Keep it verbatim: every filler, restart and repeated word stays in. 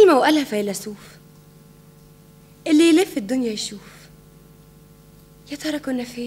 كلمة وقالها فيلسوف: اللي يلف الدنيا يشوف. يا ترى كنا فين؟